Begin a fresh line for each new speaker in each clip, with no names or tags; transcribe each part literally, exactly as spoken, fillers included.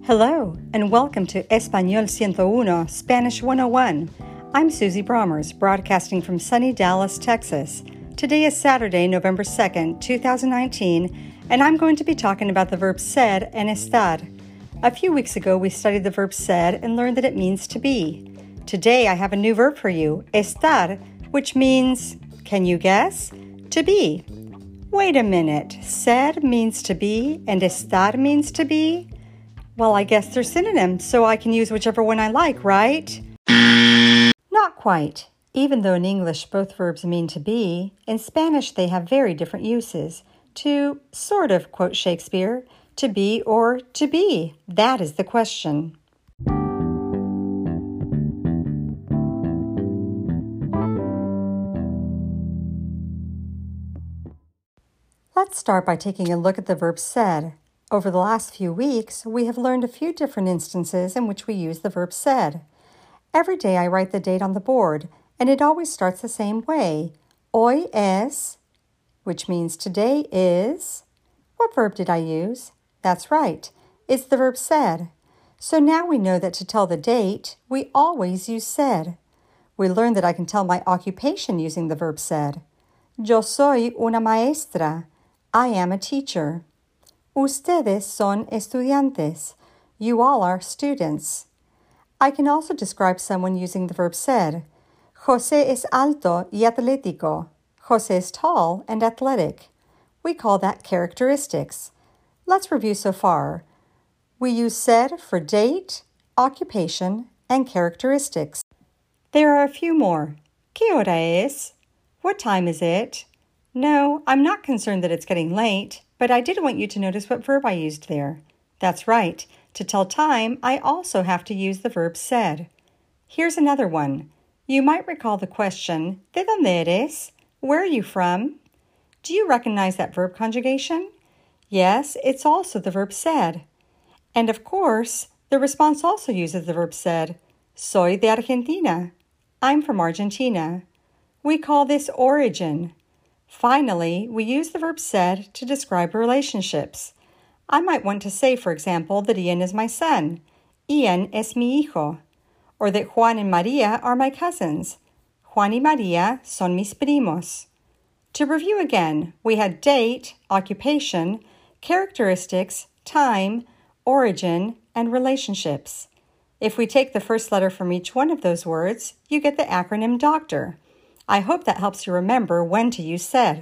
Hello, and welcome to Español ciento uno, Spanish one oh one. I'm Susie Bromers, broadcasting from sunny Dallas, Texas. Today is Saturday, November second, two thousand nineteen, and I'm going to be talking about the verb ser and estar. A few weeks ago, we studied the verb ser and learned that it means to be. Today, I have a new verb for you, estar, which means, can you guess? To be. Wait a minute, ser means to be and estar means to be? Well, I guess they're synonyms, so I can use whichever one I like, right? Not quite. Even though in English both verbs mean to be, in Spanish they have very different uses. To sort of quote Shakespeare, to be or to be, that is the question. Let's start by taking a look at the verb ser. Over the last few weeks, we have learned a few different instances in which we use the verb ser. Every day I write the date on the board, and it always starts the same way. Hoy es, which means today is. What verb did I use? That's right, it's the verb ser. So now we know that to tell the date, we always use ser. We learned that I can tell my occupation using the verb ser. Yo soy una maestra. I am a teacher. Ustedes son estudiantes. You all are students. I can also describe someone using the verb ser. José es alto y atlético. José is tall and athletic. We call that characteristics. Let's review so far. We use ser for date, occupation, and characteristics. There are a few more. ¿Qué hora es? What time is it? No, I'm not concerned that it's getting late, but I did want you to notice what verb I used there. That's right. To tell time, I also have to use the verb ser. Here's another one. You might recall the question, ¿De dónde eres? Where are you from? Do you recognize that verb conjugation? Yes, it's also the verb ser. And of course, the response also uses the verb ser. Soy de Argentina. I'm from Argentina. We call this origin. Finally, we use the verb ser to describe relationships. I might want to say, for example, that Ian is my son. Ian es mi hijo. Or that Juan and Maria are my cousins. Juan y Maria son mis primos. To review again, we had date, occupation, characteristics, time, origin, and relationships. If we take the first letter from each one of those words, you get the acronym doctor. I hope that helps you remember when to use ser.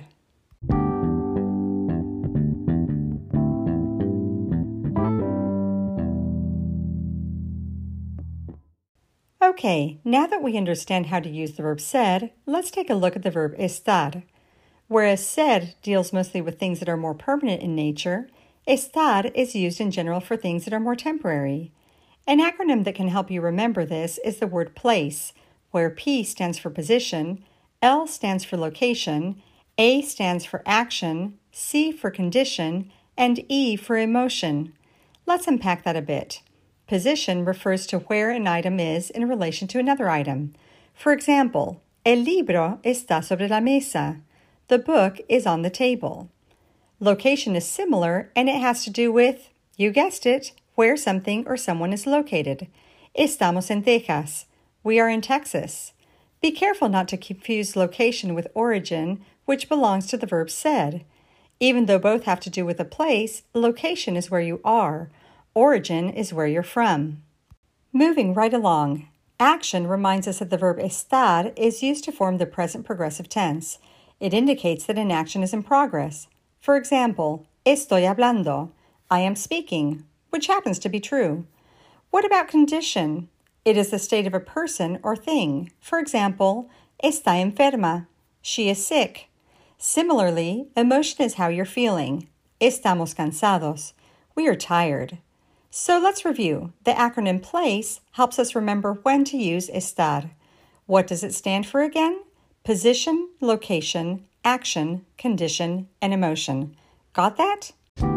Okay, now that we understand how to use the verb ser, let's take a look at the verb estar. Whereas ser deals mostly with things that are more permanent in nature, estar is used in general for things that are more temporary. An acronym that can help you remember this is the word place, where P stands for position, L stands for location, A stands for action, C for condition, and E for emotion. Let's unpack that a bit. Position refers to where an item is in relation to another item. For example, el libro está sobre la mesa. The book is on the table. Location is similar, and it has to do with, you guessed it, where something or someone is located. Estamos en Texas. We are in Texas. Be careful not to confuse location with origin, which belongs to the verb ser. Even though both have to do with a place, location is where you are. Origin is where you're from. Moving right along, action reminds us that the verb estar is used to form the present progressive tense. It indicates that an action is in progress. For example, estoy hablando. I am speaking, which happens to be true. What about condition? It is the state of a person or thing. For example, está enferma. She is sick. Similarly, emotion is how you're feeling. Estamos cansados. We are tired. So let's review. The acronym PLACE helps us remember when to use estar. What does it stand for again? Position, location, action, condition, and emotion. Got that?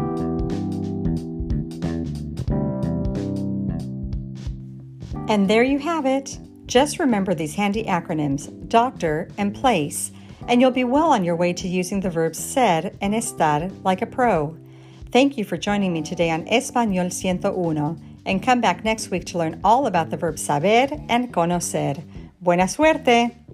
And there you have it. Just remember these handy acronyms, doctor and place, and you'll be well on your way to using the verbs ser and estar like a pro. Thank you for joining me today on Español ciento uno, And come back next week to learn all about the verb saber and conocer. Buena suerte!